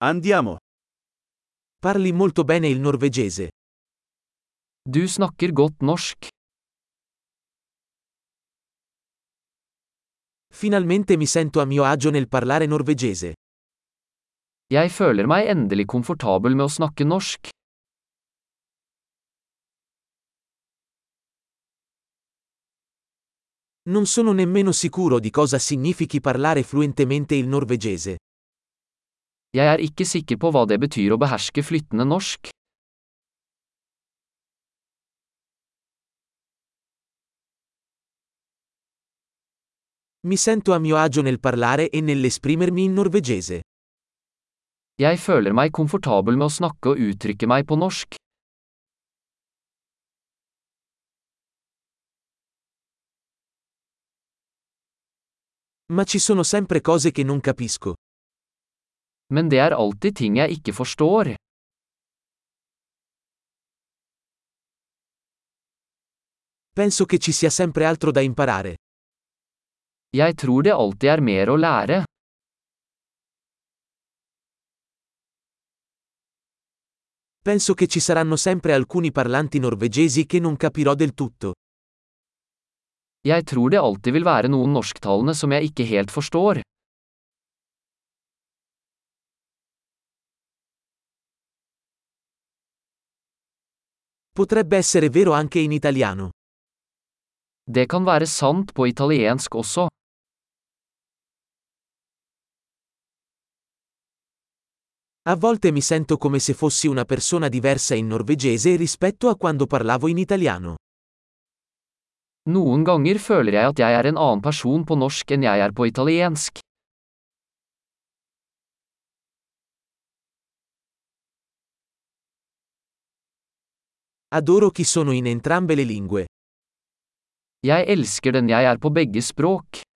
Andiamo. Parli molto bene il norvegese. Du snakker godt norsk. Finalmente mi sento a mio agio nel parlare norvegese. Jeg føler meg endelig komfortabel med å snakke norsk. Non sono nemmeno sicuro di cosa significhi parlare fluentemente il norvegese. Jeg er ikke sikker på hva det betyr å beherske flytende norsk. Mi sento a mio agio nel parlare e nell'esprimermi in norvegese. Jeg føler meg komfortabel med å snakke og uttrykke meg på norsk. Ma ci sono sempre cose che non capisco. Men det er alltid ting jeg ikke forstår. Penso che ci sia sempre altro da imparare. Jeg tror det alltid er mer å lære. Penso che ci saranno sempre alcuni parlanti norvegesi che non capirò del tutto. Jeg tror det alltid vil være noen norsktalende som jeg ikke helt forstår. Potrebbe essere vero anche in italiano. Det kan være sant på italiensk også. A volte mi sento come se fossi una persona diversa in norvegese rispetto a quando parlavo in italiano. Noen ganger føler jeg at jeg er en annen person på norsk enn jeg er på italiensk. Adoro chi sono in entrambe le lingue. Jeg elsker den jeg er på begge språk.